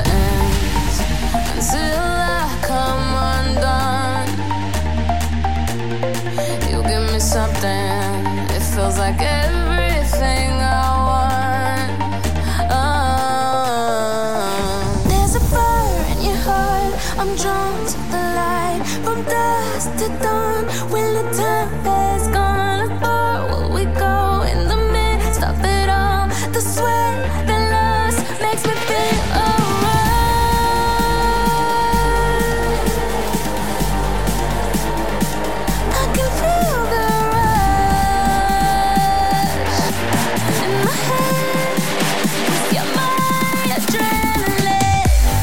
ends until I come undone. You give me something, it feels like everything I want. There's a fire in your heart, I'm drawn to the light. From dusk to dawn, when the time has gone, far will we go in the midst of it all? The sweat, the lust makes me feel alright. I can feel the rush in my head. You're my adrenaline.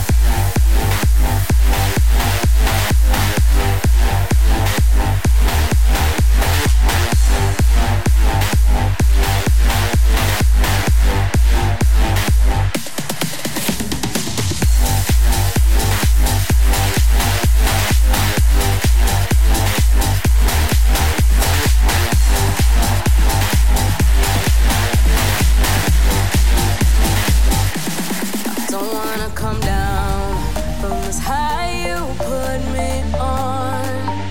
Don't wanna come down from this high you put me on.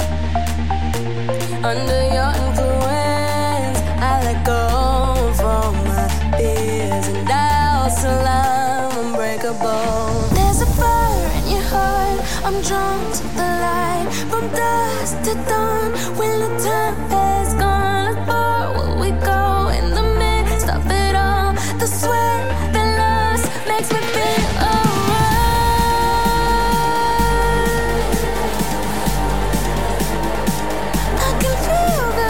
Under your influence, I let go of all my fears and doubts till I'm unbreakable. There's a fire in your heart, I'm drawn to the light. From dusk to dawn, when the time has gone, far will we go in the midst of it all? The sweat, the lust makes me feel alright. I can feel the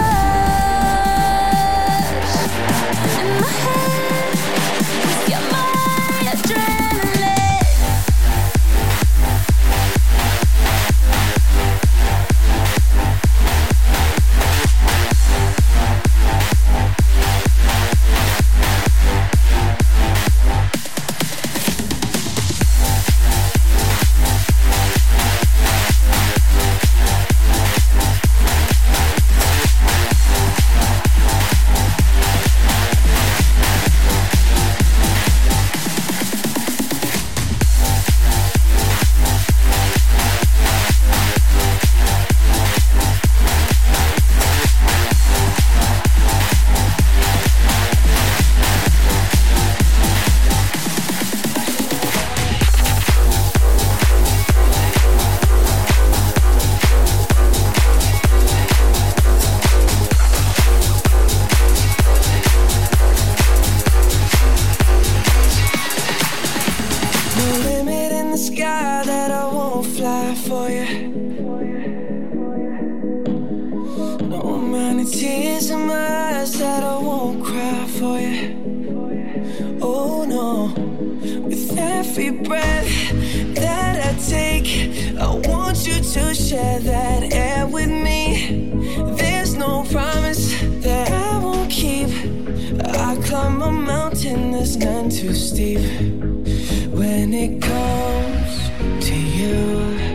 rush in my head. You're my adrenaline. No limit in the sky that I won't fly for you. No amount of tears in my eyes that I won't cry for you. Oh no, with every breath that I take, I want you to share that air with me. There's no promise that I won't keep. I climb a mountain that's none too steep. When it comes to you,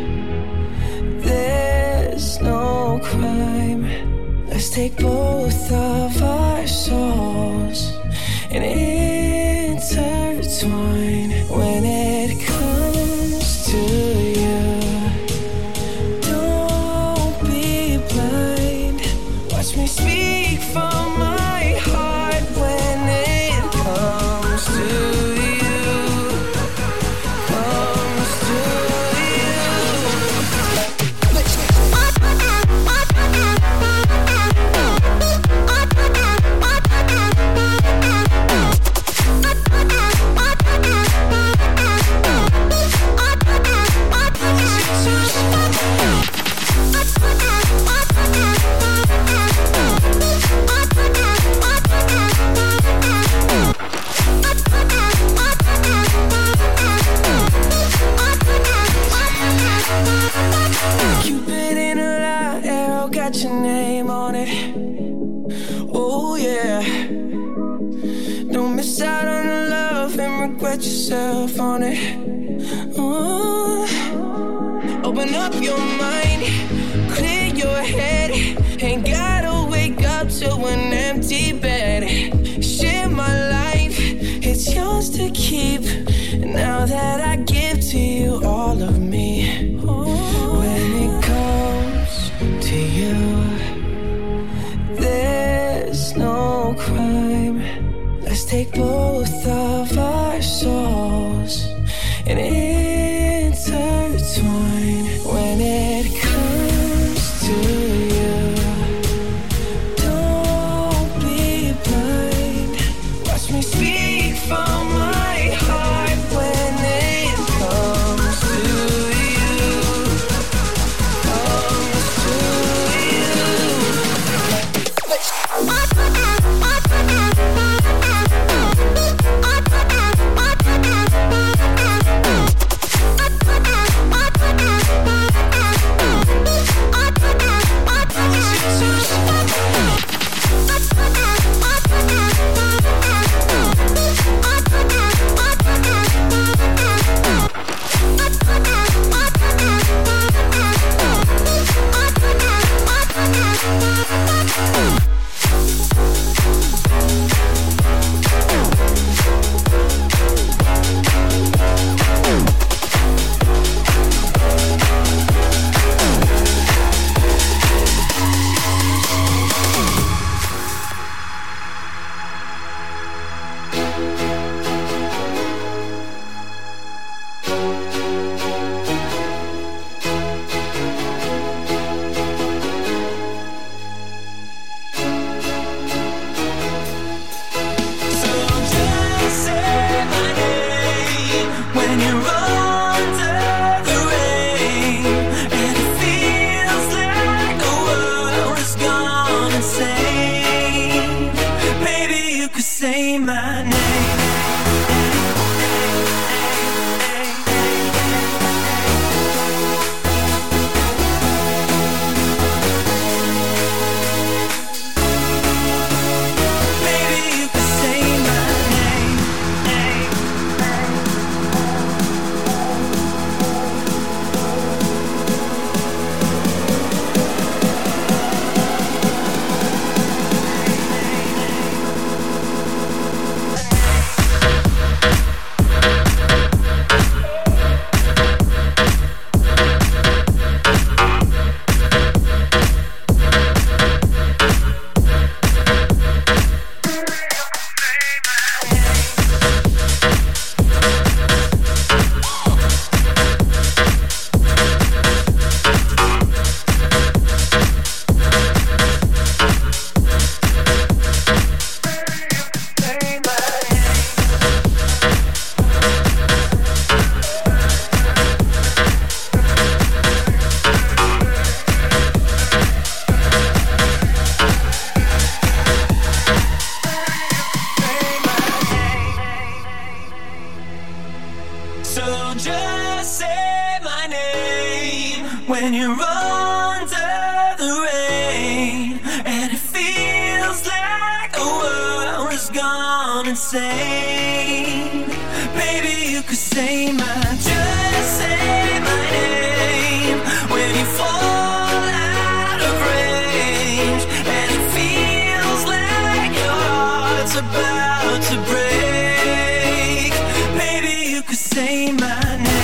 there's no crime. Let's take both of our souls and intertwine. When it comes to you, don't be blind. Watch me speak from my heart. When it comes to Cupid in a lie, arrow got your name on it. Oh yeah. Don't miss out on the love and regret yourself on it. Open up your mind, clear your head. Ain't gotta wake up to an empty bed. Share my life, it's yours to keep. Now know that I give to you all of me. When it comes to you, there's no crime. Let's take both of our souls and intertwine. When it comes to you, don't be blind. Watch me speak from my heart. When it comes to you, comes to you. when you're under the rain and it feels like the world has gone insane. Baby, you could say just say my name when you fall out of range and it feels like your heart's about to break. Baby, you could say my name.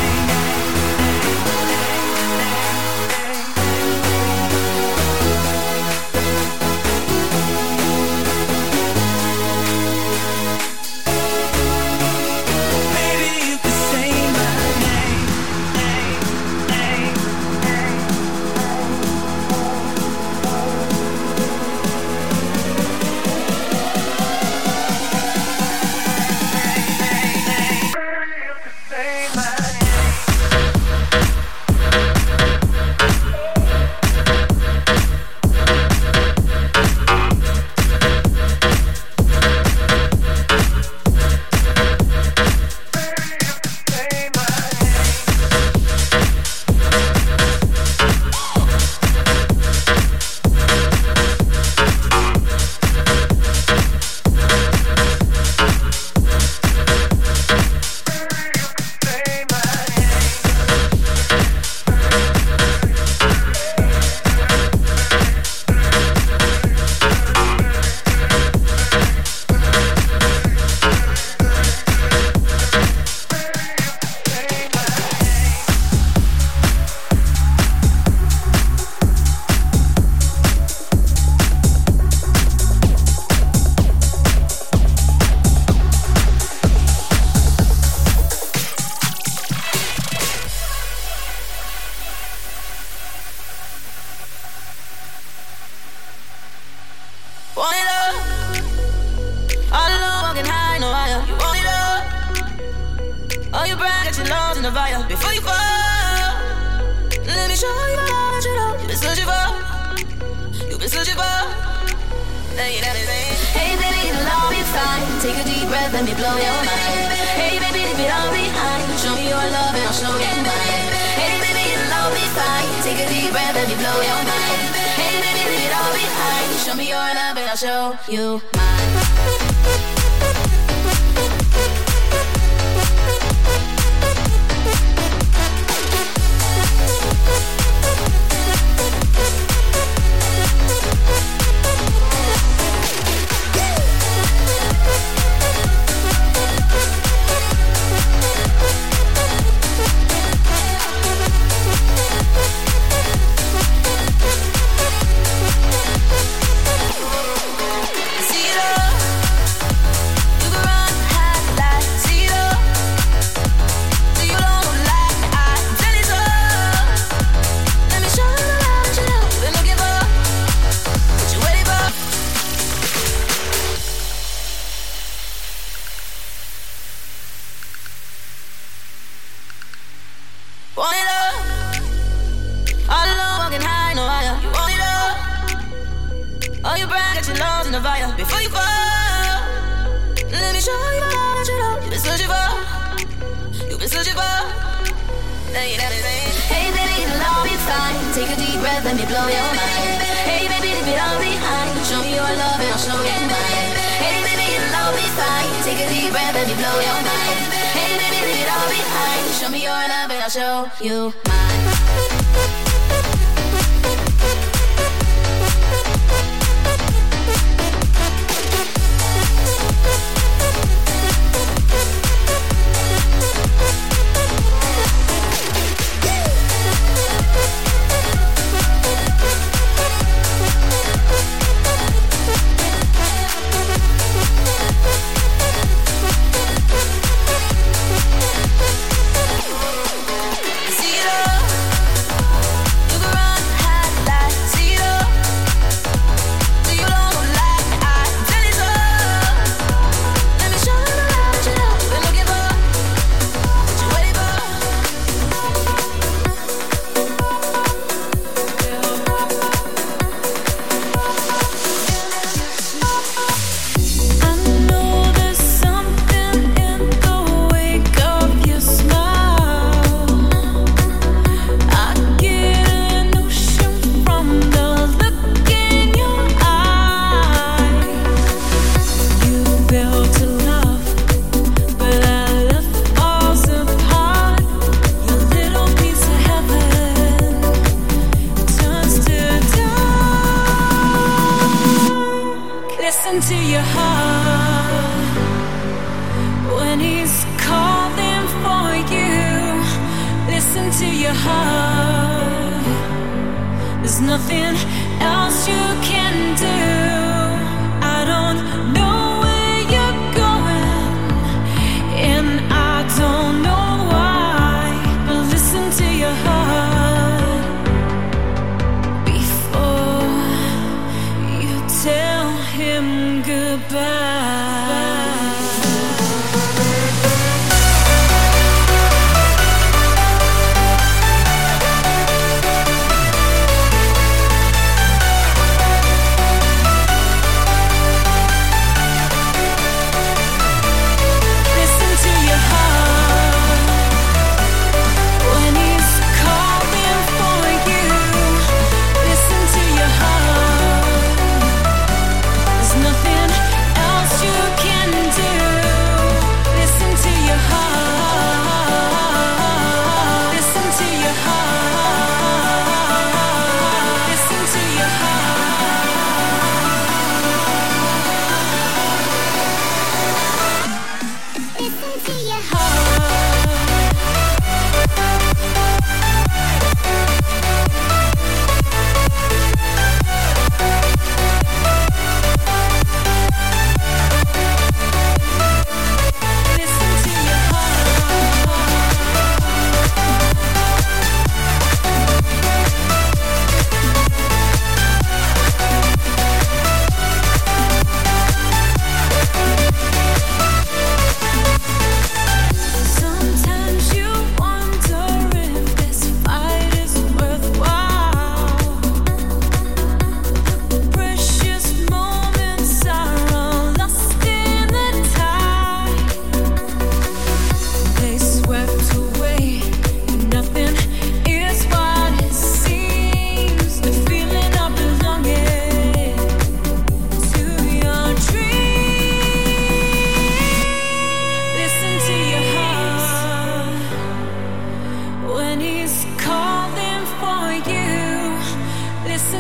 before you fall. Let me show you all that you know you've been searching for. You've been searching for. Hey baby, it'll all be fine. Take a deep breath, let me blow your mind. Hey baby, leave it all behind. Show me your love and I'll show you mine. Hey baby, it'll all be fine. Take a deep breath, let me blow your mind. Hey baby, leave it all behind. Show me your love and I'll show you mine. Before you fall, let me show you all that you know you've been searching for. You've been searching for. Hey baby, it'll all be fine. Take a deep breath, let me blow your mind. Hey baby, leave it all behind. Show me your love and I'll show you mine. Hey baby, it'll all be fine. Take a deep breath, let me blow your mind. Hey baby, leave it all behind. Show me your love and I'll show you mine.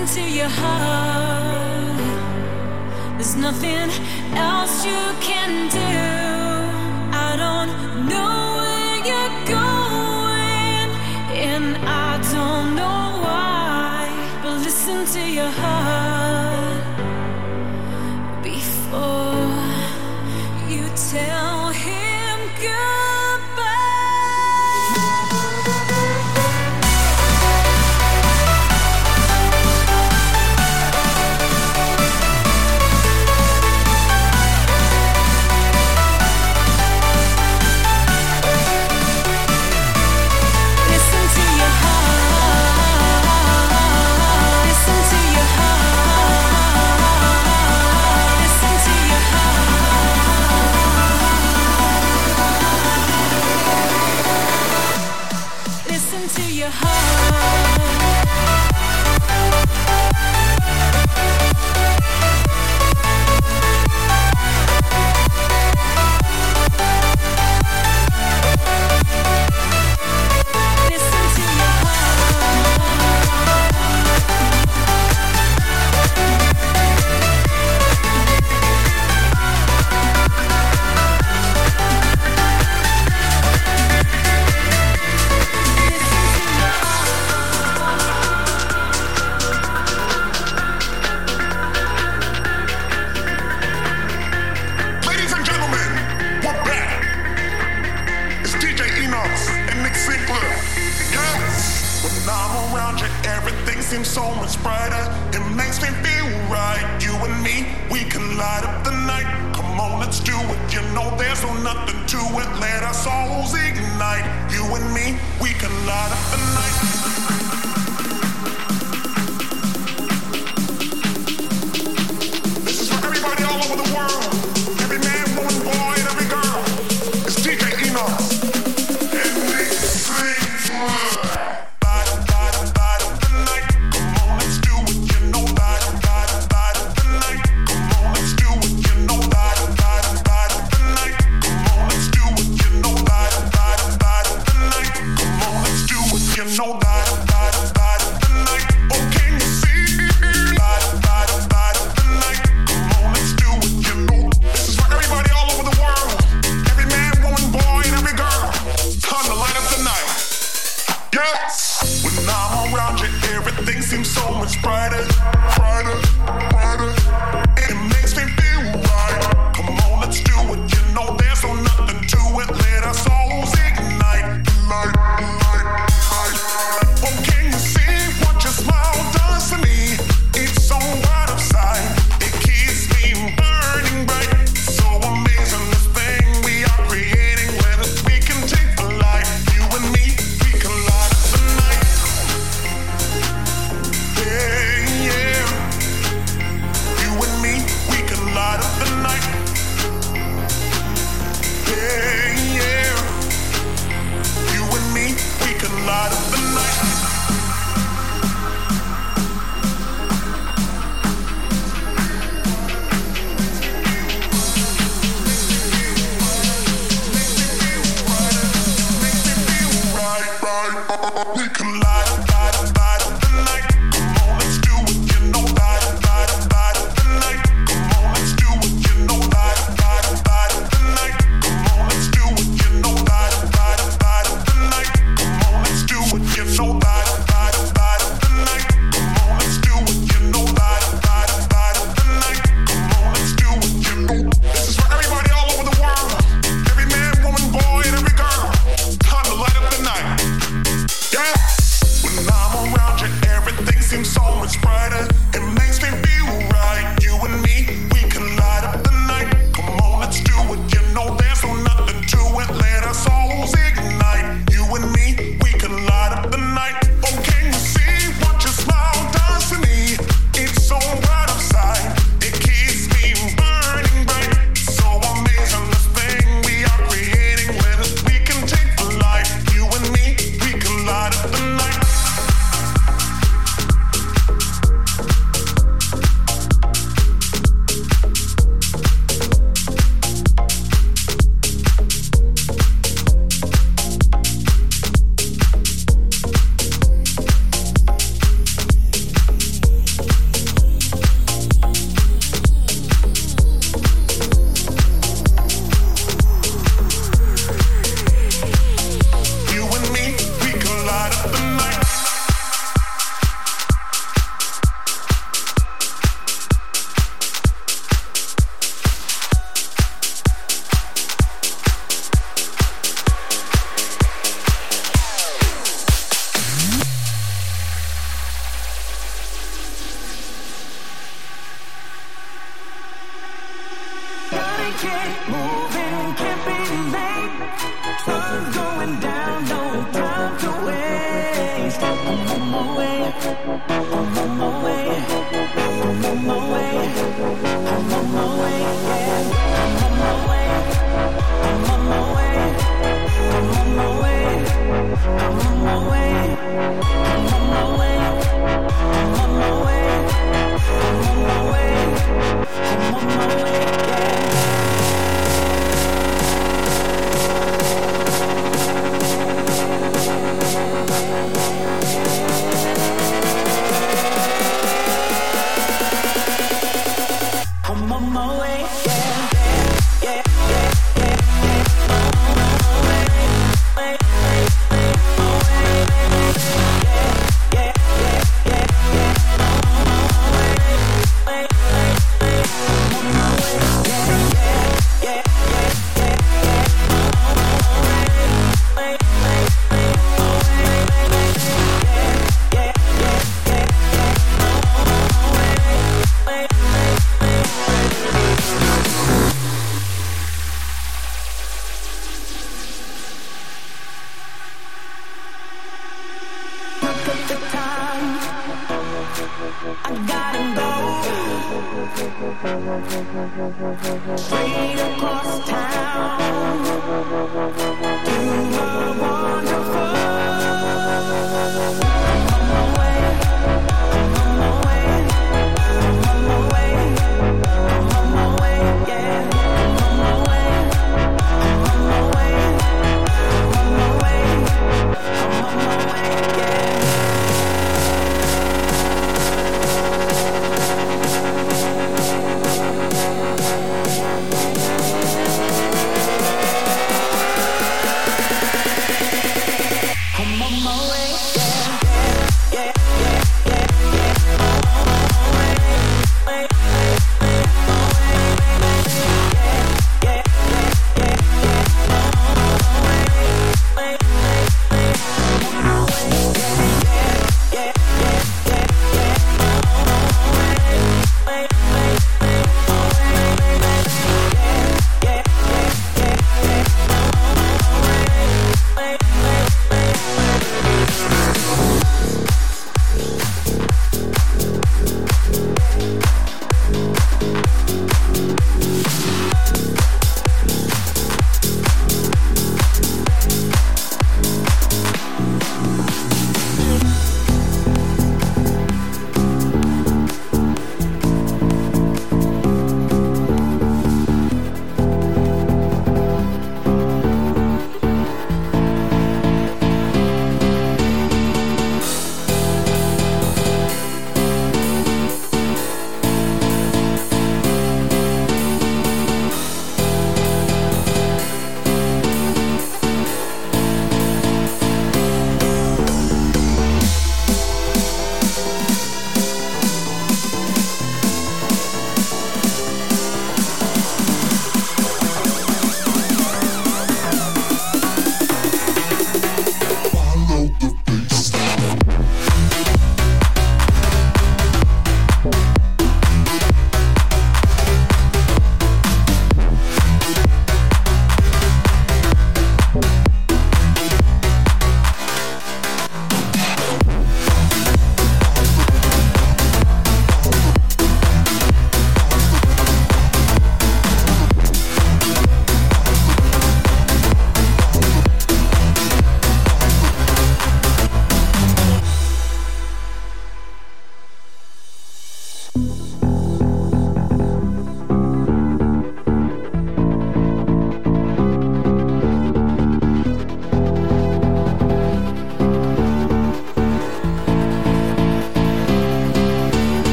Listen to your heart. There's nothing else you can do. I don't know where you're going, and I don't know why. But listen to your heart before you tell him goodbye.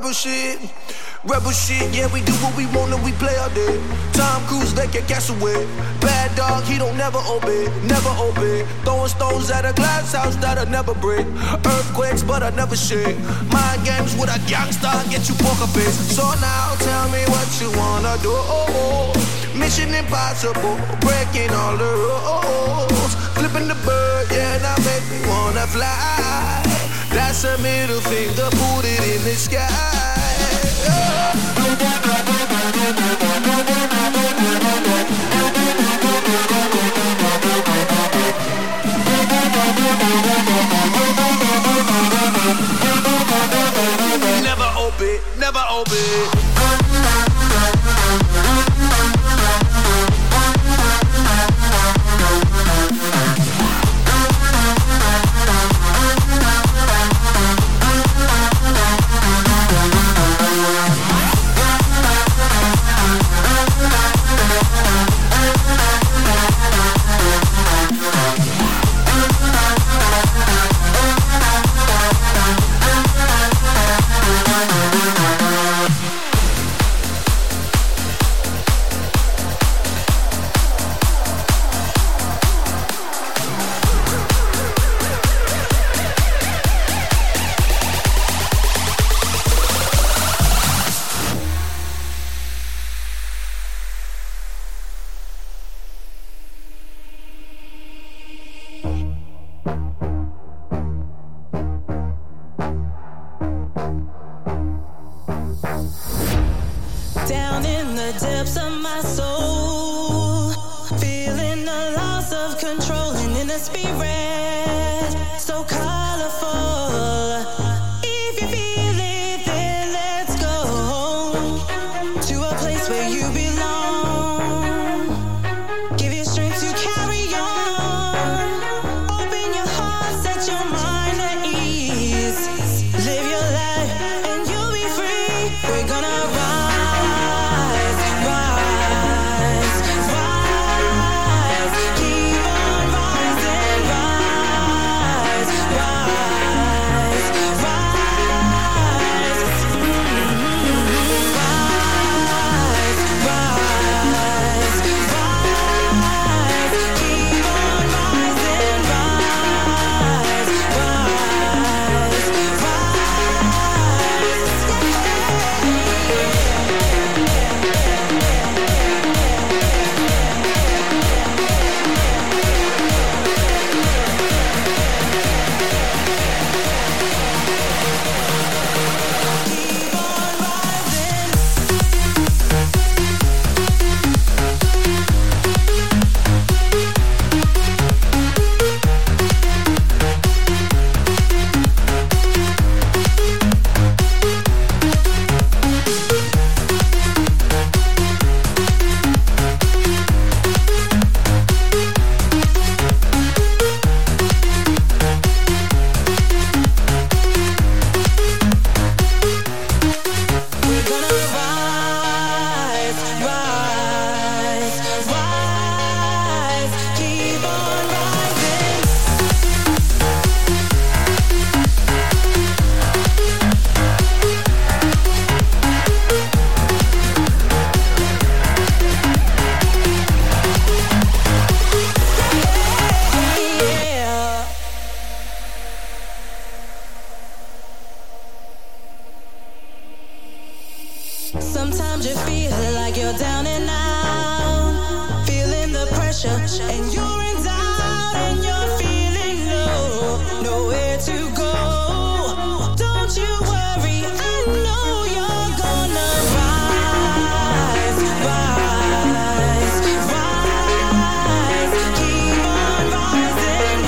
Rebel shit, yeah, we do what we want and we play all day. Tom Cruise, they can cast away. Bad dog, he don't never obey, never obey. Throwing stones at a glass house that'll never break. Earthquakes, but I never shake. Mind games with a gangster, get you poker face. So now tell me what you wanna do. Mission impossible, breaking all the rules. Flipping the bird, yeah, now make me wanna fly. That's a middle finger, put it in the sky. Never obey, never obey. Sometimes you feel like you're down and out, feeling the pressure, and you're in doubt, and you're feeling low, nowhere to go. Don't you worry, I know you're gonna rise, rise, rise. Keep on rising,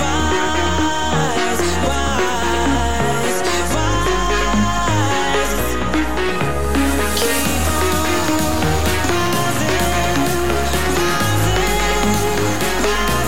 rise, rise, rise. Keep on rising, rising, rise.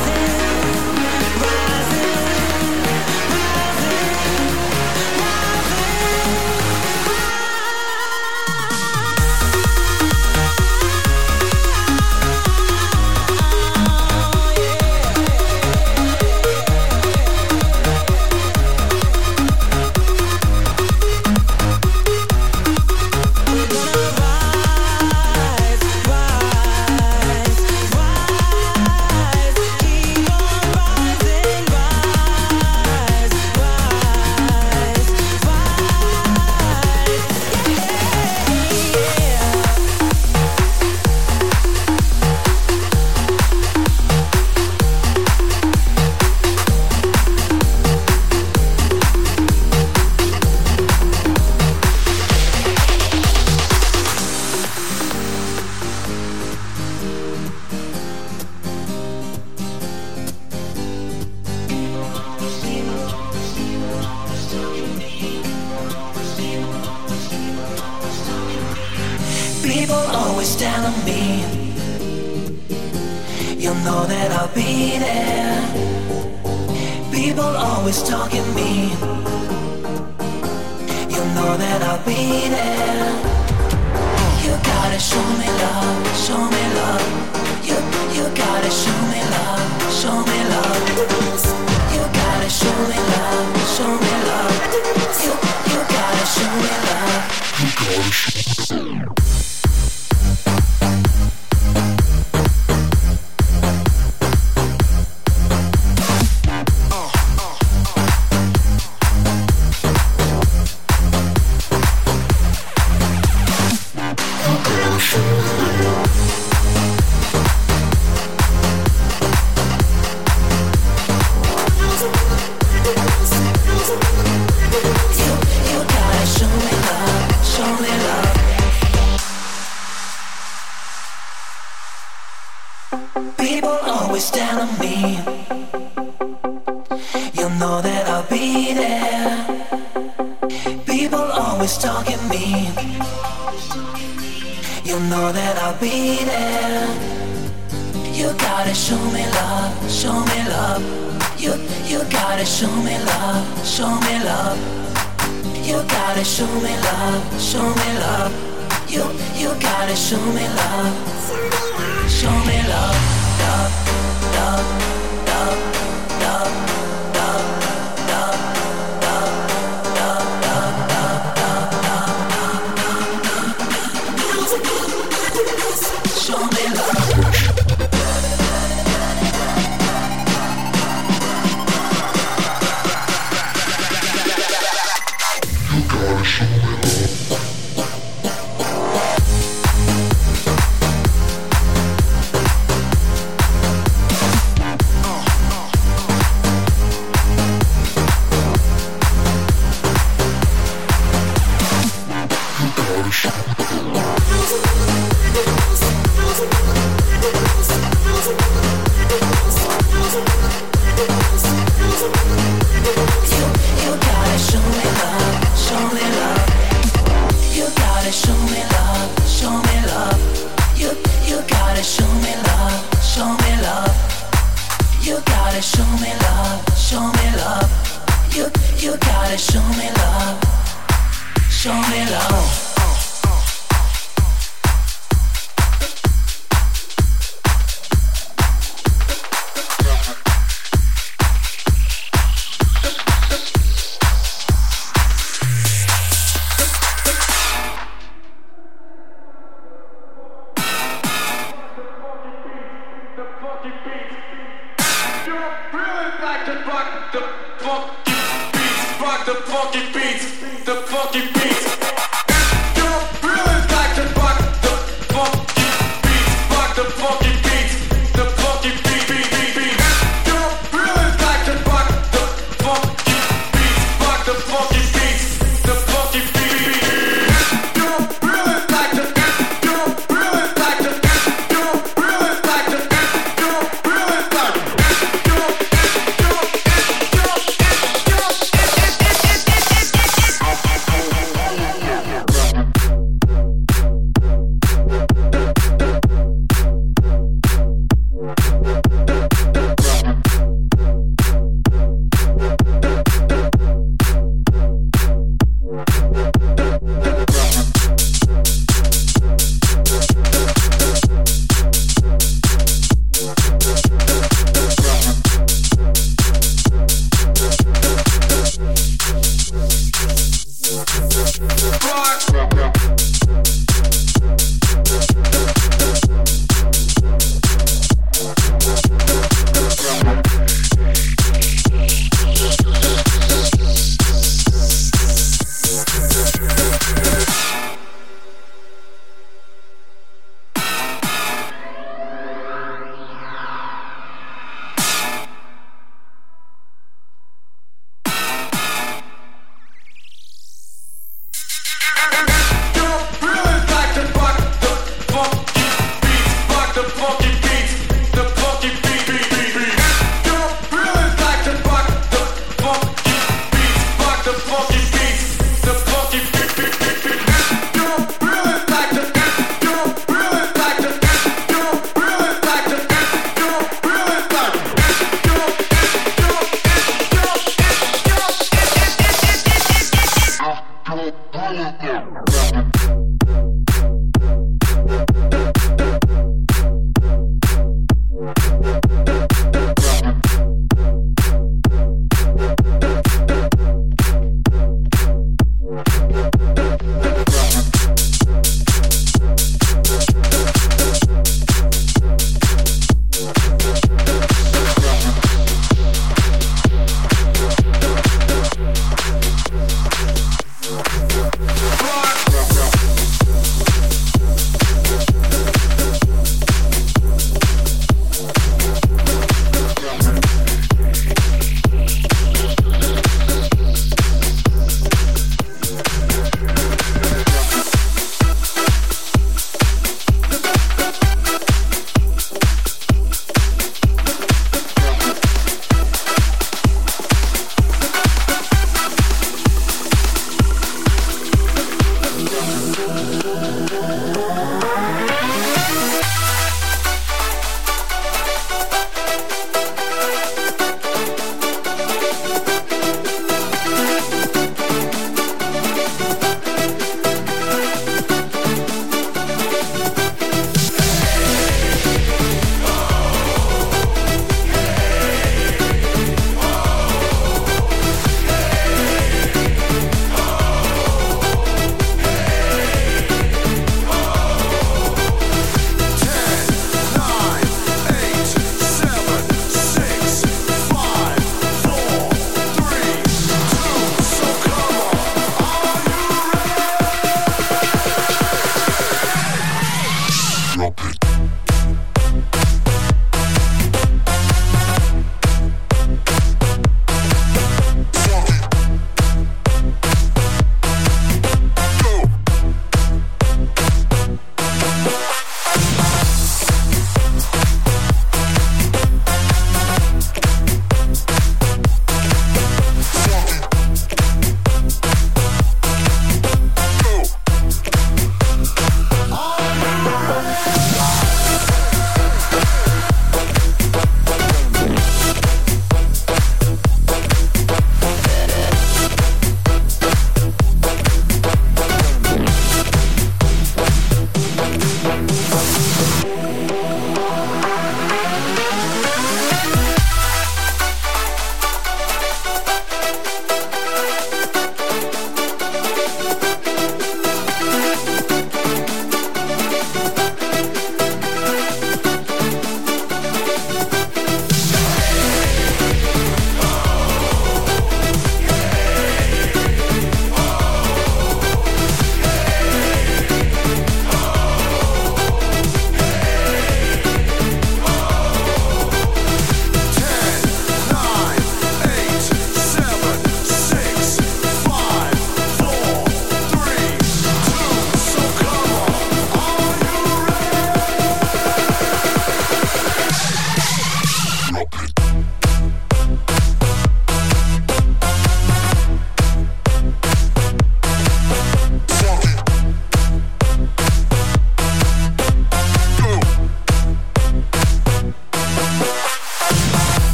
down on me, you'll know that I'll be there. People always talking me, you'll know that I'll be there. You gotta show me love, show me love. You gotta show me love, show me love. You gotta show me love, show me love. You gotta show me love. You gotta show me love.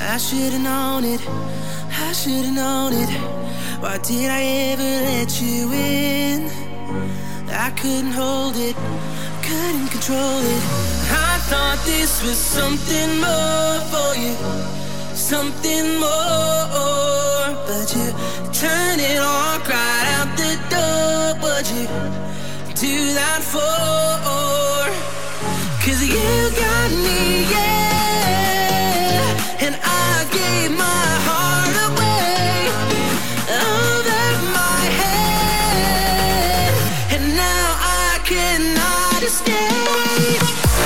I should've known it, I should've known it. Why did I ever let you in? I couldn't hold it, couldn't control it. I thought this was something more for you, something more. But you turned it all right out the door. What'd you do that for? 'Cause you got me, yeah, and I gave my heart away over my head, and now I cannot escape.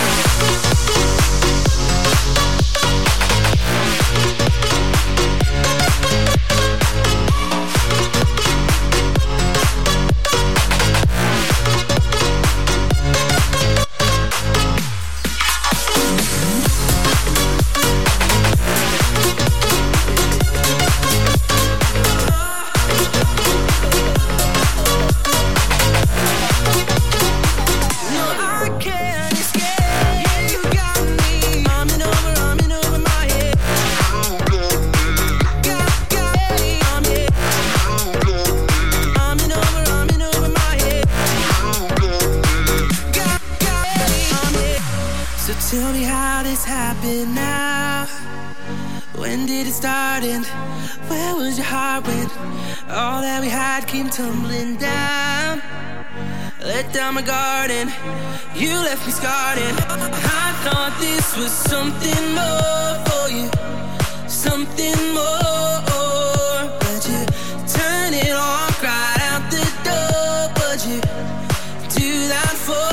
Tell me how this happened now. When did it start and where was your heart when all that we had came tumbling down? Let down my guard and you left me scarred, and I thought this was something more for you, something more. But you turned it all right out the door. What'd you do that for?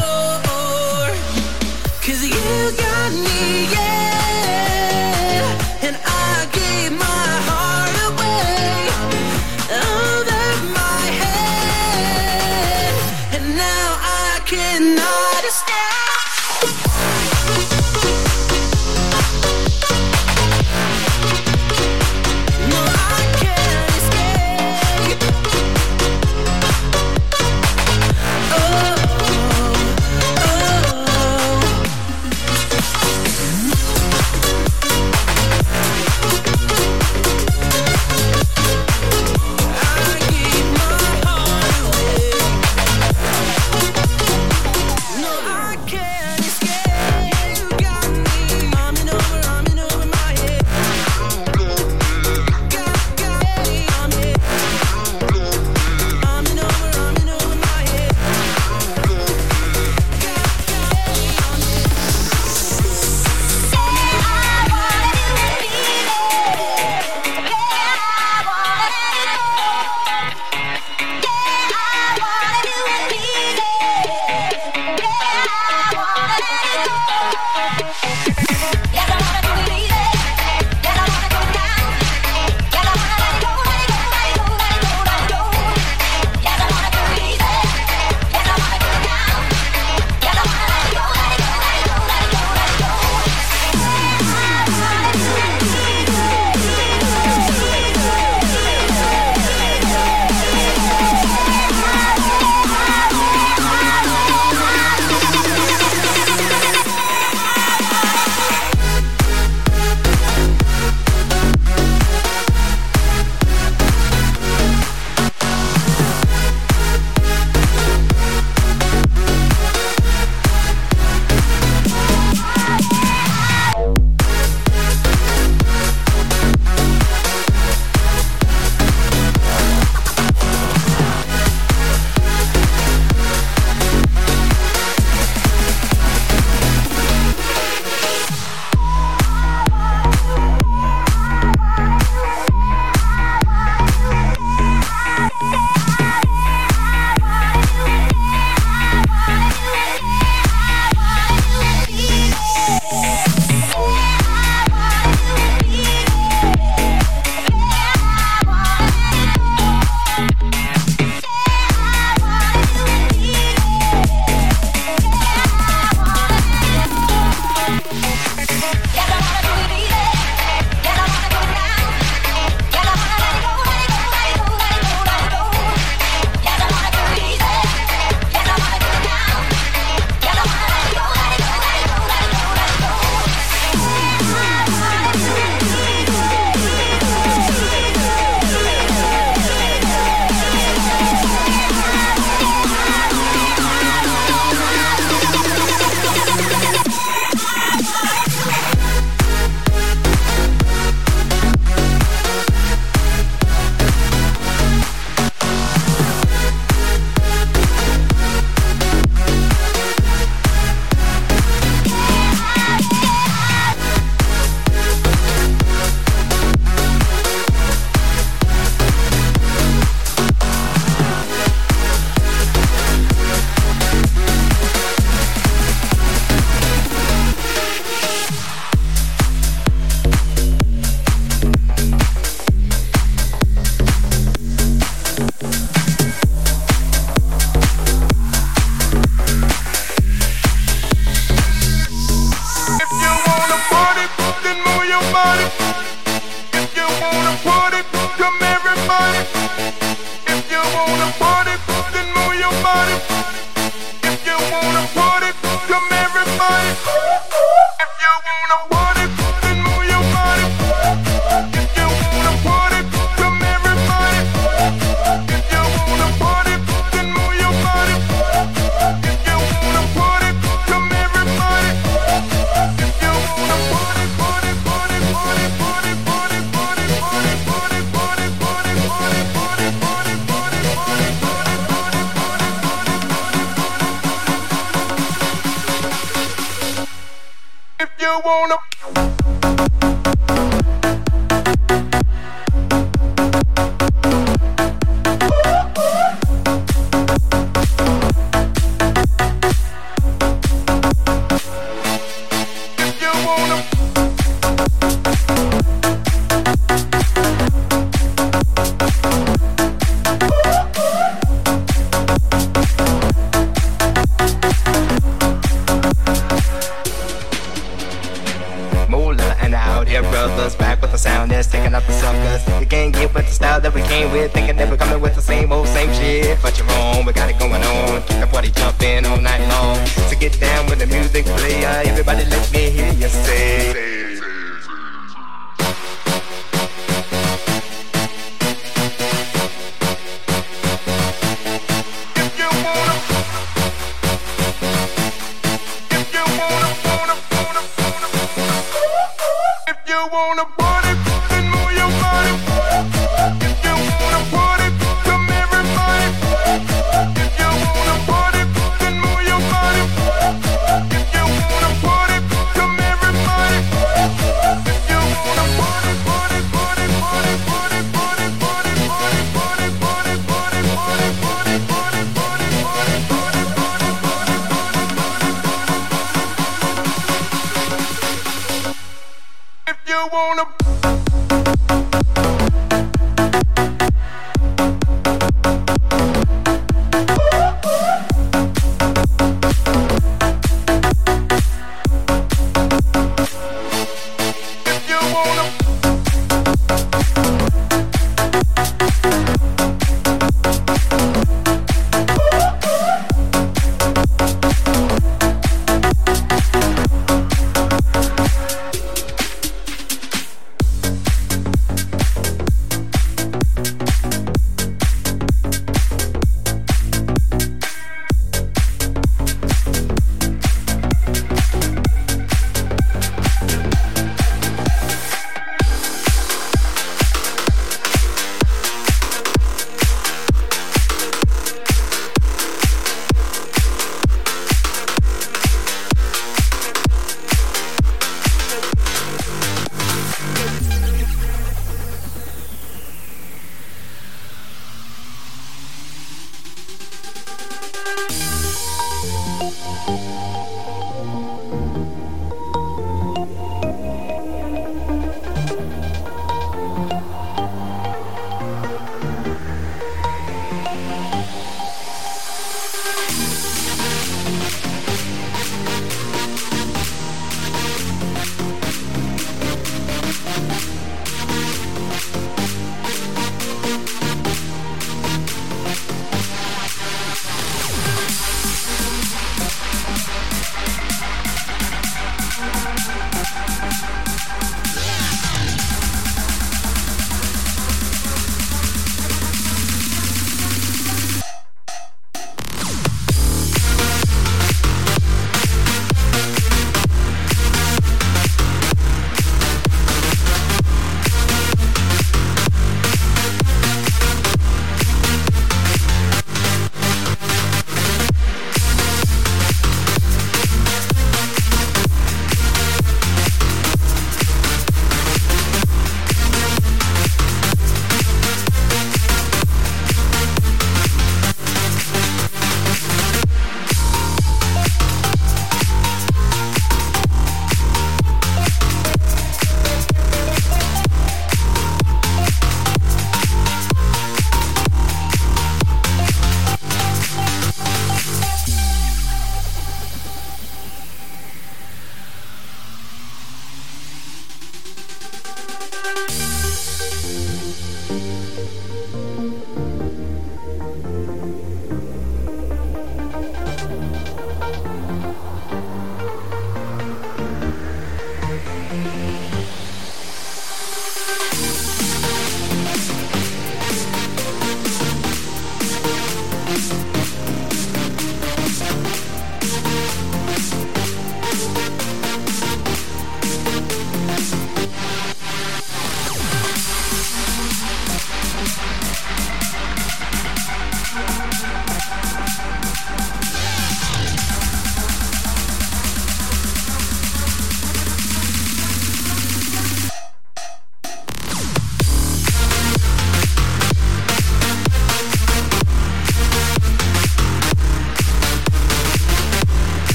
'Cause you got me, yeah, and I gave my heart away over my head, and now I cannot escape. No, I can't escape. Oh. I can't you wanna. Back with the sound that's taking up the suckers. You can't get with the style that we came with, thinking that we're coming with the same old same shit. But you're wrong, we got it going on. Keep the party jumping all night long. So get down with the music player. Everybody let me